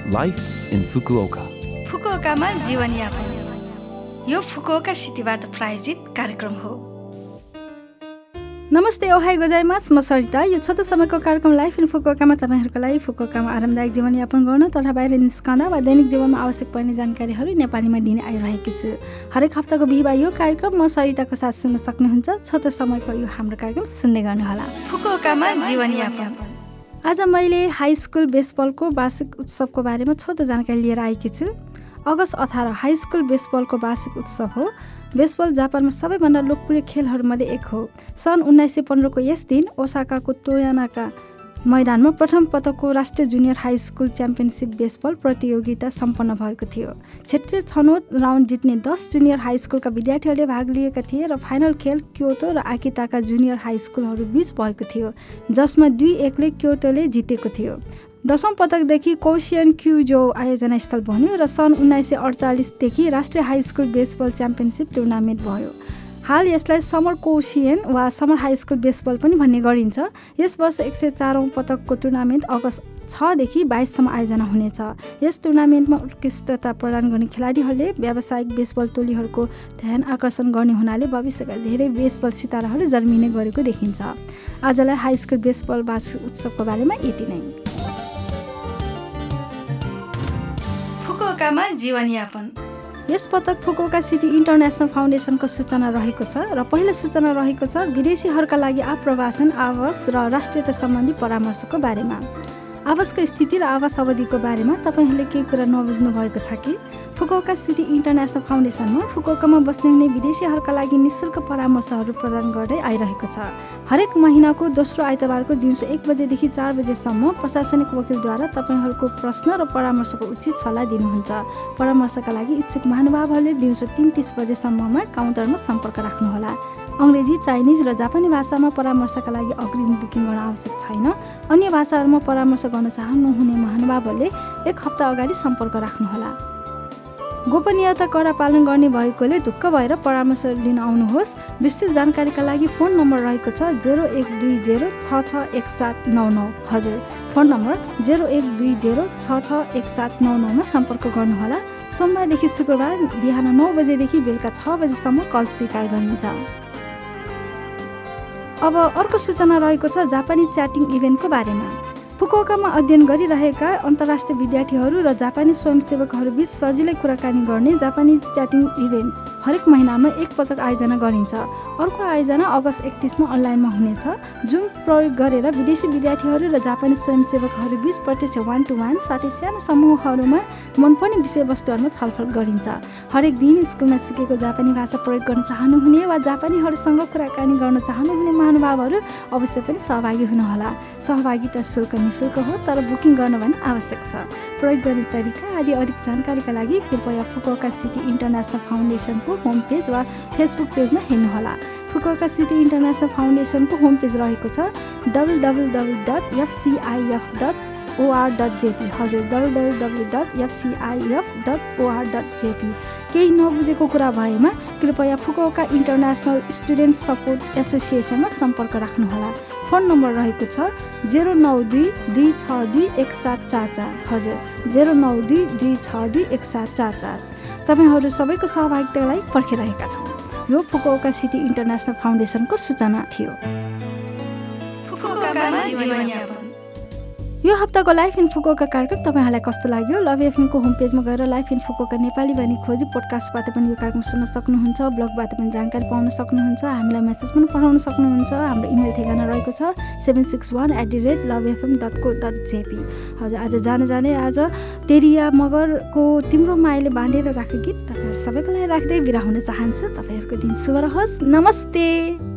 Life in Fukuoka. फुकुओकामा जीवनयापन। यो Fukuoka सिटीबाट प्रायोजित कार्यक्रम हो। नमस्ते, ओहाई गोजाइमास, म सरिता। यो छोटो समयको कार्यक्रम लाइफ इन फुकुओकामा तपाईँहरूको लागि फुकुओकामा आरामदायक जीवनयापन गर्न तथा बाहिर निस्कँदा वा दैनिक जीवनमा आवश्यक पर्ने जानकारीहरू नेपालीमा दिने आइरहेकी छु। हरेक हप्ताको बिहिबार यो कार्यक्रम म सरिताको साथ सुन्न सक्नुहुन्छ। छोटो समयको यो हाम्रो कार्यक्रम सुन्दै गर्नुहोला। फुकुओकामा जीवनयापन। आज मैले हाई स्कुल बेसबलको वार्षिक उत्सवको बारेमा छोटो जानकारी लिएर आएकी छु। अगस्त 18 हाई स्कुल बेसबलको वार्षिक उत्सव हो। बेसबल जापानमा सबैभन्दा लोकप्रिय खेलहरूमध्ये एक हो। सन् 1915 को यस दिन ओसाकाको टोयोनाका मैदानमा प्रथम पटकको राष्ट्रिय junior high school championship baseball प्रतियोगिता सम्पन्न भएको थियो। क्षेत्रीय छनौट राउन्ड जित्ने 10 जुनियर हाई स्कुलका विद्यार्थीहरूले भाग लिएका थिए र फाइनल खेल क्योटो र आकिताका जुनियर हाई स्कुलहरू बीच भएको थियो, जसमा 2-1 ले क्योटोले जितेको थियो। 10औं पटकदेखि कोसियन क्युजो आयोजना स्थल बन्यो र सन् 1948 देखि राष्ट्रिय high school baseball championship tournament भयो। हाल यसलाई समर कोसियन वा समर हाई स्कुल बेसबल पनि भन्ने गरिन्छ। यस वर्ष 104औं पटकको टुर्नामेन्ट अगस्त 6 देखि 22 सम्म आयोजना हुनेछ। यस टुर्नामेन्टमा उत्कृष्टता प्रदान गर्ने खेलाडीहरूले व्यावसायिक बेसबल टोलीहरूको ध्यान आकर्षण गर्ने हुनाले भविष्यका धेरै बेसबल सिताराहरू जन्मिने गरेको देखिन्छ। आजलाई हाई स्कुल बेसबल वार्षिक उत्सवको बारेमा यति नै। फुकुओकामा जीवनयापन। यस पटक फुकुओका सिटी इन्टरनेसनल फाउन्डेसनको सूचना रहेको छ र पहिलो सूचना रहेको छ विदेशीहरूका लागि आप्रवासन, आवास र राष्ट्रियता सम्बन्धी परामर्शको बारेमा। आवासको स्थिति र आवास अवधिको बारेमा तपाईँहरूले केही कुरा नबुझ्नु भएको छ कि? फुकुओका सिटी इन्टरनेसनल फाउन्डेसनमा फुकुओकामा बस्ने हुने विदेशीहरूका लागि निःशुल्क परामर्शहरू प्रदान गर्दै आइरहेको छ। हरेक महिनाको दोस्रो आइतबारको दिउँसो 1 बजेदेखि 4 बजेसम्म प्रशासनिक वकिलद्वारा तपाईँहरूको प्रश्न र परामर्शको उचित सल्लाह दिनुहुन्छ। परामर्शका लागि इच्छुक महानुभावहरूले दिउँसो 3:30 बजेसम्ममा काउन्टरमा सम्पर्क राख्नुहोला। अङ्ग्रेजी, चाइनिज र जापानी भाषामा परामर्शका लागि अग्रिम बुकिङ गर्न आवश्यक छैन। अन्य भाषाहरूमा परामर्श गर्न चाहनुहुने महानुभावहरूले 1 हप्ता अगाडि सम्पर्क राख्नुहोला। गोपनीयता कडा पालन गर्ने भएकोले ढुक्क भएर परामर्श लिन आउनुहोस्। विस्तृत जानकारीका लागि फोन नम्बर रहेको छ 0120661799। हजुर, फोन नम्बर 0120661799 मा सम्पर्क गर्नुहोला। सोमबारदेखि शुक्रबार बिहान 9 बजेदेखि बेलुका 6 बजेसम्म कल स्वीकार गरिन्छ। अब अर्को सूचना रहेको छ जापानी च्याटिङ इभेन्टको बारेमा। फुकुओकामा अध्ययन गरिरहेका अन्तर्राष्ट्रिय विद्यार्थीहरू र जापानी स्वयंसेवकहरू बीच सजिलै कुराकानी गर्ने जापानी च्याटिङ इभेन्ट हरेक महिनामा 1 पटक आयोजना गरिन्छ। अर्को आयोजना अगस्त 31 मा अनलाइनमा हुनेछ। जुम प्रयोग गरेर विदेशी विद्यार्थीहरू र जापानी स्वयंसेवकहरू बीच प्रत्यक्ष 1-to-1 साथै सानो समूहहरूमा मनपर्ने विषयवस्तुहरूमा छलफल गरिन्छ। हरेक दिन स्कुलमा सिकेको जापानी भाषा प्रयोग गर्न चाहनुहुने वा जापानीहरूसँग कुराकानी गर्न चाहनुहुने महानुभावहरू अवश्य पनि सहभागी हुनुहोला। सहभागिता शुल्क निःशुल्क हो, तर बुकिङ गर्न भने आवश्यक छ। प्रयोग गर्ने तरिका आदि अधिक जानकारीका लागि कृपया Fukuoka city international फाउन्डेसनको home page वा फेसबुक पेजमा हेर्नुहोला। Fukuoka city international फाउन्डेसनको home page रहेको छ www.fcif.or.jp। हजुर, www.fcif.or.jp। केही नबुझेको कुरा भएमा कृपया फुकुओका इन्टरनेसनल स्टुडेन्ट सपोर्ट एसोसिएसनमा सम्पर्क राख्नुहोला। फोन नम्बर रहेको छ 09226217444। हजुर, 09226217444। तपाईँहरू सबैको सहभागिताका लागि पर्खिरहेका छौँ। यो फुकुओका सिटी इन्टरनेसनल फाउन्डेसनको सूचना थियो। यो हप्ताको लाइफ इन फुकुओका कार्यक्रम तपाईँहरूलाई कस्तो लाग्यो? लभ एफएमको होम पेजमा गएर लाइफ इन फुकुओका नेपाली भनी खोजी पोडकास्टबाट पनि यो कार्यक्रम सुन्न सक्नुहुन्छ। ब्लगबाट पनि जानकारी पाउन सक्नुहुन्छ। हामीलाई मेसेज पनि पठाउन सक्नुहुन्छ। हाम्रो इमेल ठेगाना रहेको छ 761@lovefm.co.jp। हजुर, आज जाने आज तेरिया मगरको तिम्रो मायाले बाँडेर राखेको गीत तपाईँहरू सबैको लागि राख्दै बिदा हुन चाहन्छु। तपाईँहरूको दिन शुभ रहोस्। नमस्ते।